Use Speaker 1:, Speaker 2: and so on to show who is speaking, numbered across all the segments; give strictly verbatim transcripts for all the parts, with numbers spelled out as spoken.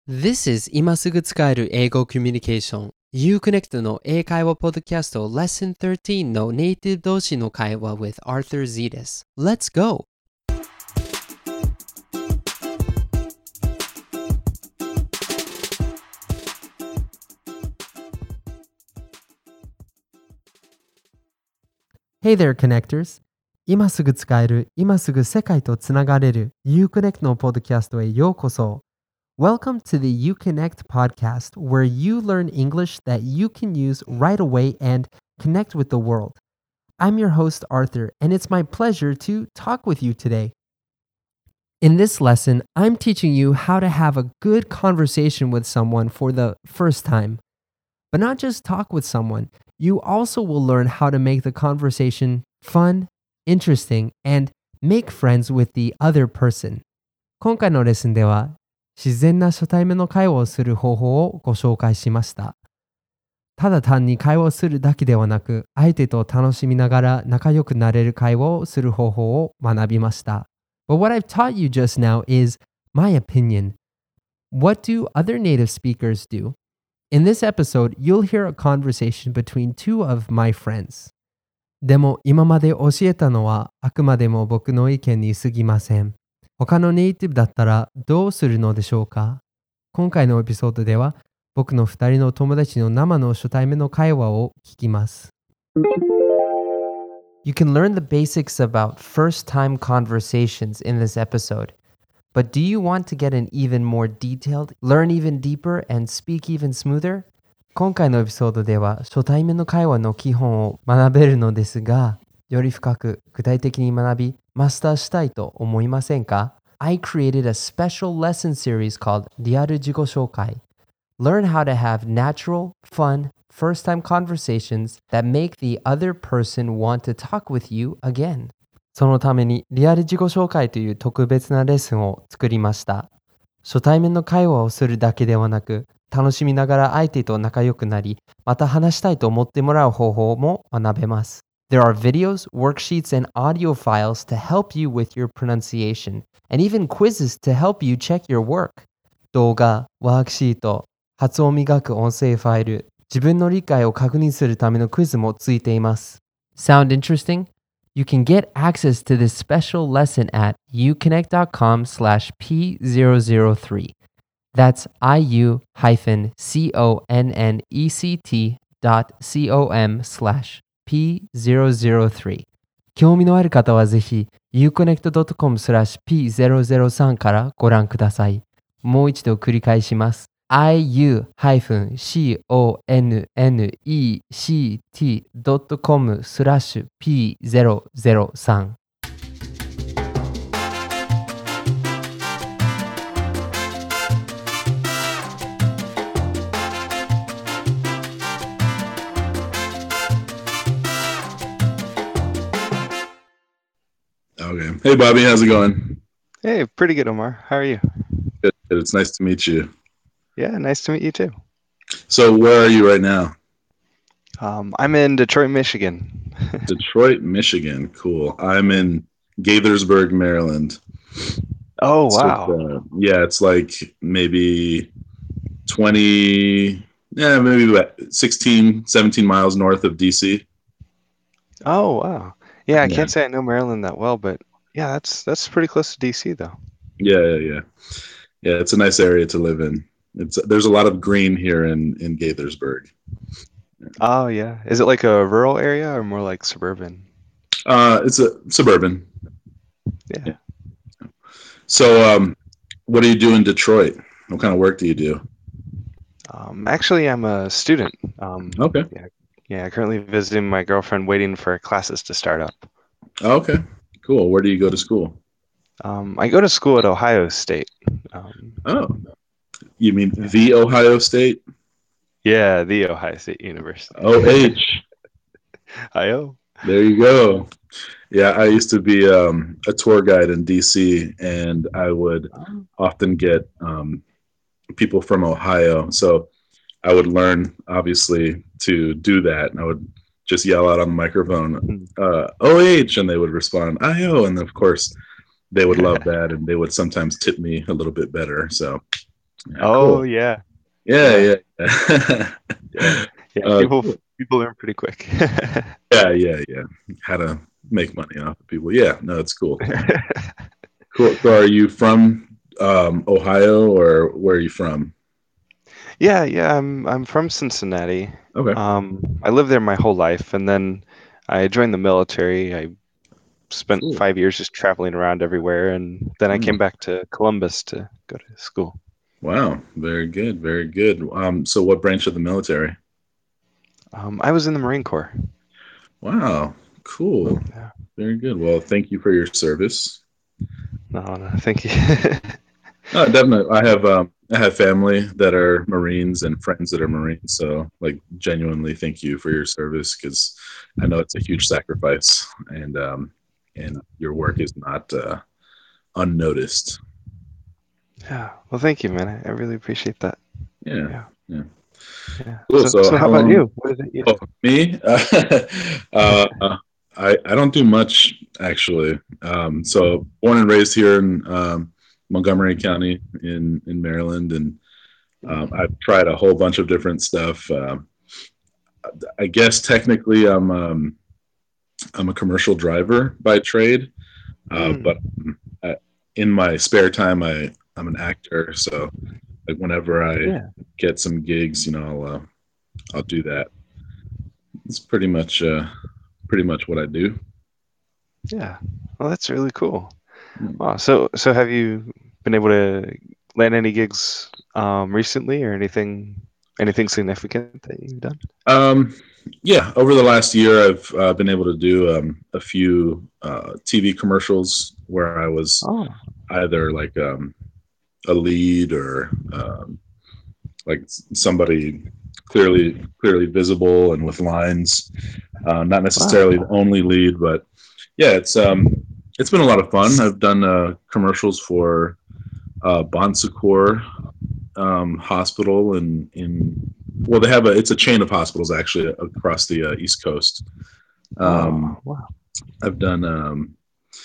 Speaker 1: This is 今すぐ使える英語コミュニケーション Uconnect の英会話ポッドキャスト Lesson thirteen のネイティブ同士の会話 with Arthur Z です。Let's go!
Speaker 2: Hey there, connectors! 今すぐ使える、今すぐ世界とつながれる Uconnect のポッドキャストへようこそ。Welcome to the Uconnect podcast, where you learn English that you can use right away and connect with the world. I'm your host, Arthur, and it's my pleasure to talk with you today. In this lesson, I'm teaching you how to have a good conversation with someone for the first time. But not just talk with someone, you also will learn how to make the conversation fun, interesting, and make friends with the other person. 今回のレッスンでは、自然な初対面の会話をする方法をご紹介しました。ただ単に会話をするだけではなく、相手と楽しみながら仲良くなれる会話をする方法を学びました。But what I've taught you just now is my opinion. What do other native speakers do? In this episode, you'll hear a conversation between two of my friends. でも今まで教えたのはあくまでも僕の意見に過ぎません。他のネイティブだったらどうするのでしょうか？今回のエピソードでは僕の二人の友達の生の初対面の会話を聞きます。You can learn the basics about first-time conversations in this episode. But do you want to get an even more detailed, learn even deeper, and speak even smoother? 今回のエピソードでは初対面の会話の基本を学べるのですが、より深く具体的に学び、マスターしたいと思いませんか？ I created a special lesson series called リアル自己紹介. Learn how to have natural, fun, first-time conversations that make the other person want to talk with you again. そのためにリアル自己紹介という特別なレッスンを作りました。初対面の会話をするだけではなく、楽しみながら相手と仲良くなり、また話したいと思ってもらう方法も学べます。There are videos, worksheets, and audio files to help you with your pronunciation, and even quizzes to help you check your work. 動画、ワークシート、発音を磨く音声ファイル、自分の理解を確認するためのクイズもついています。Sound interesting? You can get access to this special lesson at uconnect.com slash p003. That's iu-connect dot com slash p zero zero three. 興味のある方はぜひ uconnect.com slash p zero zero three からご覧ください。もう一度繰り返します。iu-connect.com slash p zero zero three.
Speaker 3: Okay. Hey, Bobby, how's it going?
Speaker 4: Hey, pretty good, Omar. How are you?
Speaker 3: Good. It's nice to meet you.
Speaker 4: Yeah, nice to meet you too.
Speaker 3: So where are you right now?
Speaker 4: Um, I'm in Detroit, Michigan.
Speaker 3: Detroit, Michigan. Cool. I'm in Gaithersburg, Maryland.
Speaker 4: Oh,
Speaker 3: So
Speaker 4: wow.
Speaker 3: it's, uh, yeah, it's like maybe twenty, yeah, maybe about sixteen, seventeen miles north of D C.
Speaker 4: Oh, wow. Yeah, I
Speaker 3: Yeah.
Speaker 4: can't say I know Maryland that well, but yeah, that's that's pretty close to D C though.
Speaker 3: Yeah, yeah, yeah. Yeah, it's a nice area to live in. It's there's a lot of green here in, in Gaithersburg.
Speaker 4: Oh, yeah. Is it like a rural area or more like suburban?
Speaker 3: Uh, it's a suburban.
Speaker 4: Yeah.
Speaker 3: Yeah. So, um, what do you do in Detroit? What kind of work do you do?
Speaker 4: Um, actually, I'm a student. Um,
Speaker 3: Okay.
Speaker 4: yeah, yeah, currently visiting my girlfriend, waiting for classes to start up.
Speaker 3: Okay. Cool. Where do you go to school?
Speaker 4: Um, I go to school at Ohio State. Um,
Speaker 3: Oh, you mean the Ohio State?
Speaker 4: yeah, the Ohio State University.
Speaker 3: O H.
Speaker 4: Ohio.
Speaker 3: There you go. Yeah, I used to be um, a tour guide in D C, and I would often get um, people from Ohio. So I would learn, obviously, to do that. And I would just yell out on the microphone, uh, O H, and they would respond, I O. And of course, they would love that, and they would sometimes tip me a little bit better. So Yeah,
Speaker 4: Oh
Speaker 3: cool.
Speaker 4: yeah,
Speaker 3: Yeah,
Speaker 4: yeah,
Speaker 3: yeah, yeah.
Speaker 4: yeah, yeah.
Speaker 3: uh,
Speaker 4: People
Speaker 3: cool.
Speaker 4: people learn pretty quick.
Speaker 3: Yeah, yeah, yeah. How to make money off of people. Yeah, no, it's cool. Cool. So, are you from um, Ohio, or where are you from?
Speaker 4: Yeah, yeah. I'm I'm from Cincinnati.
Speaker 3: Okay.
Speaker 4: Um, I lived there my whole life, and then I joined the military. I spent
Speaker 3: Cool.
Speaker 4: five years just traveling around everywhere, and then I
Speaker 3: Mm.
Speaker 4: came back to Columbus to go to school.
Speaker 3: Wow. Very good. Very good. Um, so, what branch of the military?
Speaker 4: Um, I was in the Marine Corps.
Speaker 3: Wow. Cool.
Speaker 4: Yeah.
Speaker 3: Very good. Well, thank you for your service.
Speaker 4: No, no, thank you.
Speaker 3: No, definitely. I have um, I have family that are Marines and friends that are Marines. So, like, genuinely, thank you for your service, because I know it's a huge sacrifice, and um, and your work is not uh, unnoticed.
Speaker 4: Yeah. Well, thank you, man. I, I really appreciate that.
Speaker 3: Yeah.
Speaker 4: Yeah.
Speaker 3: Yeah.
Speaker 4: Yeah.
Speaker 3: Cool.
Speaker 4: So,
Speaker 3: So,
Speaker 4: so how
Speaker 3: how
Speaker 4: about
Speaker 3: long?
Speaker 4: you? What is it you
Speaker 3: Oh,
Speaker 4: do?
Speaker 3: me? uh, I I don't do much, actually. Um, so, born and raised here in um, Montgomery County in in Maryland, and um, I've tried a whole bunch of different stuff. Um, I guess technically, I'm um, I'm a commercial driver by trade, uh, but
Speaker 4: Mm.
Speaker 3: I, in my spare time, I I'm an actor. So, like, whenever I
Speaker 4: Yeah.
Speaker 3: get some gigs, you know, I'll uh, I'll do that. It's pretty much uh, pretty much what I do.
Speaker 4: Yeah. Well, that's really cool.
Speaker 3: Hmm.
Speaker 4: Wow. So, so have you been able to land any gigs um, recently, or anything, anything significant that you've done?
Speaker 3: Um, yeah, over the last year, I've uh, been able to do um, a few uh, T V commercials where I was
Speaker 4: Oh,
Speaker 3: either like um, a lead, or um, like somebody clearly clearly visible and with lines. Uh, not
Speaker 4: wow.
Speaker 3: necessarily the only lead, but yeah, it's um, it's been a lot of fun. I've done uh, commercials for uh, Bon Secours um, Hospital in in well, they have a it's a chain of hospitals actually across the uh, East Coast. Um,
Speaker 4: Oh, wow.
Speaker 3: I've done um,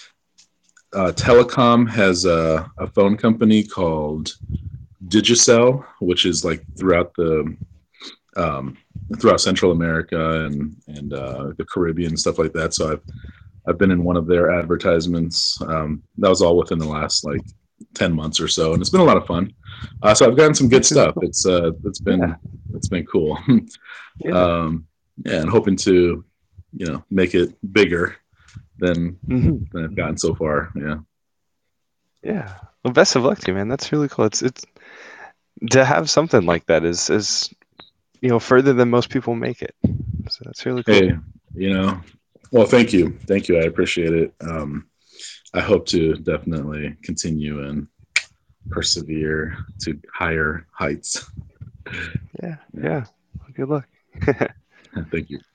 Speaker 3: uh, Telecom has a, a phone company called Digicel, which is like throughout the um, throughout Central America and and uh, the Caribbean and stuff like that. So I've I've been in one of their advertisements. Um, that was all within the last like ten months or so, and it's been a lot of fun. Uh, so I've gotten some good
Speaker 4: That's really
Speaker 3: stuff.
Speaker 4: cool.
Speaker 3: It's uh, it's
Speaker 4: Yeah.
Speaker 3: been it's been cool.
Speaker 4: Yeah.
Speaker 3: um, yeah, and hoping to you know make it bigger than
Speaker 4: Hmm.
Speaker 3: than I've gotten so far. Yeah.
Speaker 4: Yeah. Well, best of luck to you, man. That's really cool. It's it's to have something like that is is you know further than most people make it. So that's really cool.
Speaker 3: Hey, you know, well, thank you, thank you. I appreciate it. Um, I hope to definitely continue and persevere to higher heights.
Speaker 4: Yeah.
Speaker 3: Yeah.
Speaker 4: Yeah. Well, good luck.
Speaker 3: Thank you.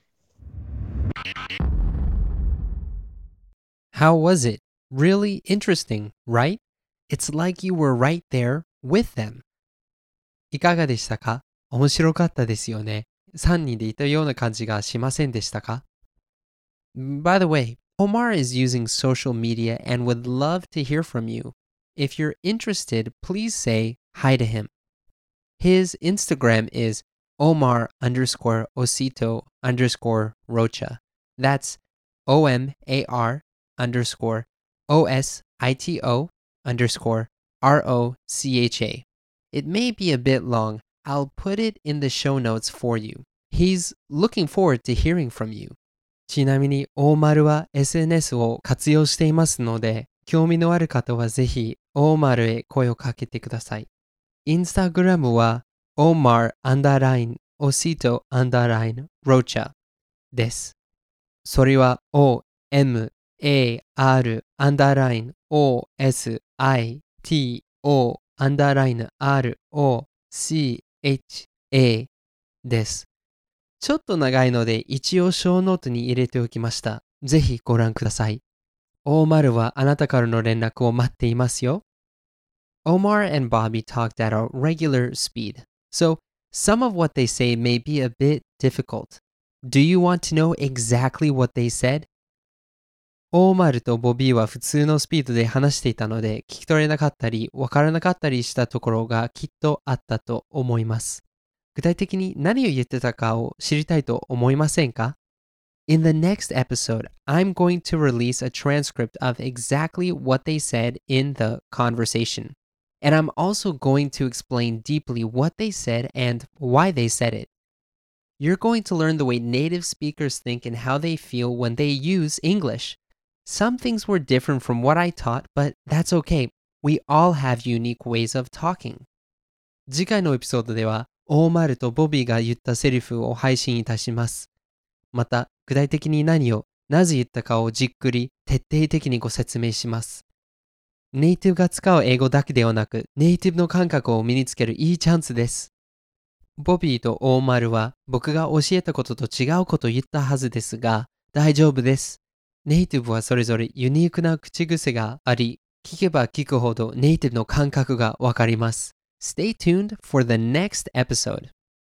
Speaker 1: How was it? Really interesting, right? It's like you were right there with them. いかがでしたか？面白かったですよね。さんにんでいたような感じがしませんでしたか？ By the way, Omar is using social media and would love to hear from you. If you're interested, please say hi to him. His Instagram is Omar underscore Osito underscore Rocha. That's O M A R underscore O S I T O underscore R O C H A. It may be a bit long. I'll put it in the show notes for you. He's looking forward to hearing from you. ちなみに、大丸は エスエヌエス を活用していますので、興味のある方はぜひ、大丸へ声をかけてください。インスタグラムは、Omar アンダーライン、Osito アンダーライン、Rocha です。それは O M A R アンダーライン O S I T O アンダーライン R O C H A です。ちょっと長いので一応ショーノートに入れておきました。ぜひご覧ください。Omar はあなたからの連絡を待っていますよ。Omar and Bobby talked at a regular speed, so some of what they say may be a bit difficult. Do you want to know exactly what they said? オーマルとボビーは普通のスピードで話していたので、聞き取れなかったり、わからなかったりしたところがきっとあったと思います。具体的に何を言ってたかを知りたいと思いませんか？ In the next episode, I'm going to release a transcript of exactly what they said in the conversation. And I'm also going to explain deeply what they said and why they said it. You're going to learn the way native speakers think and how they feel when they use English.Some things were different from what I taught, but that's okay. We all have unique ways of talking. 次回のエピソードでは、オーマルとボビーが言ったセリフを配信いたします。また、具体的に何を、なぜ言ったかをじっくり、徹底的にご説明します。ネイティブが使う英語だけではなく、ネイティブの感覚を身につけるいいチャンスです。ボビーとオーマルは、僕が教えたことと違うことを言ったはずですが、大丈夫です。ネイティブはそれぞれユニークな口癖があり、聞けば聞くほどネイティブの感覚がわかります。Stay tuned for the next episode.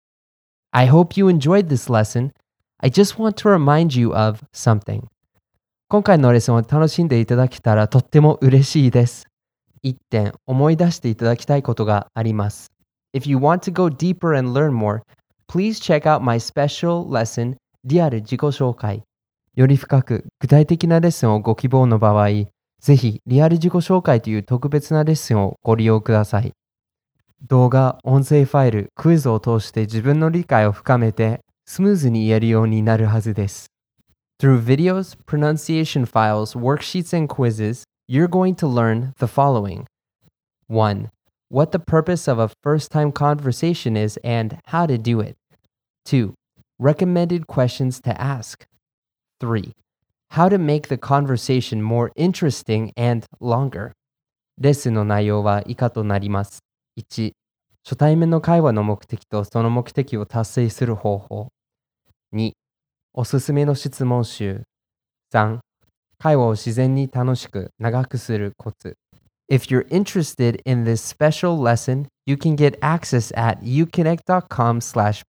Speaker 2: I hope you enjoyed this lesson. I just want to remind you of something. 今回のレッスンを楽しんでいただけたらとっても嬉しいです。一点思い出していただきたいことがあります。If you want to go deeper and learn more, please check out my special lesson, リアル自己紹介。より深く具体的なレッスンをご希望の場合、ぜひリアル自己紹介という特別なレッスンをご利用ください。動画、音声ファイル、クイズを通して自分の理解を深めてスムーズに言えるようになるはずです。Through videos, pronunciation files, worksheets, and quizzes, you're going to learn the following. one. What the purpose of a first-time conversation is and how to do it. two. Recommended questions to ask.three. How to make the conversation more interesting and longer. レッスンの内容は以下となります。いち. 初対面の会話の目的とその目的を達成する方法。に. おすすめの質問集。さん. 会話を自然に楽しく長くするコツ。If you're interested in this special lesson, you can get access at uconnect.com slash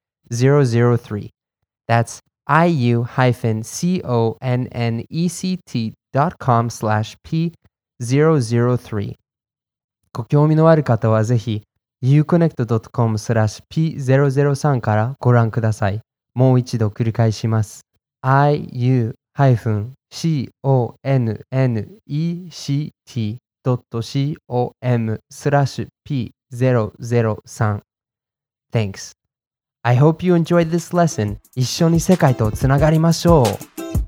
Speaker 2: p003. That's iu-connect.com slash p003 ご興味のある方はぜひ uconnect.com slash p003 からご覧ください。もう一度繰り返します。iu-connect.com slash p003 Thanks.I hope you enjoyed this lesson. 一緒に世界とつながりましょう。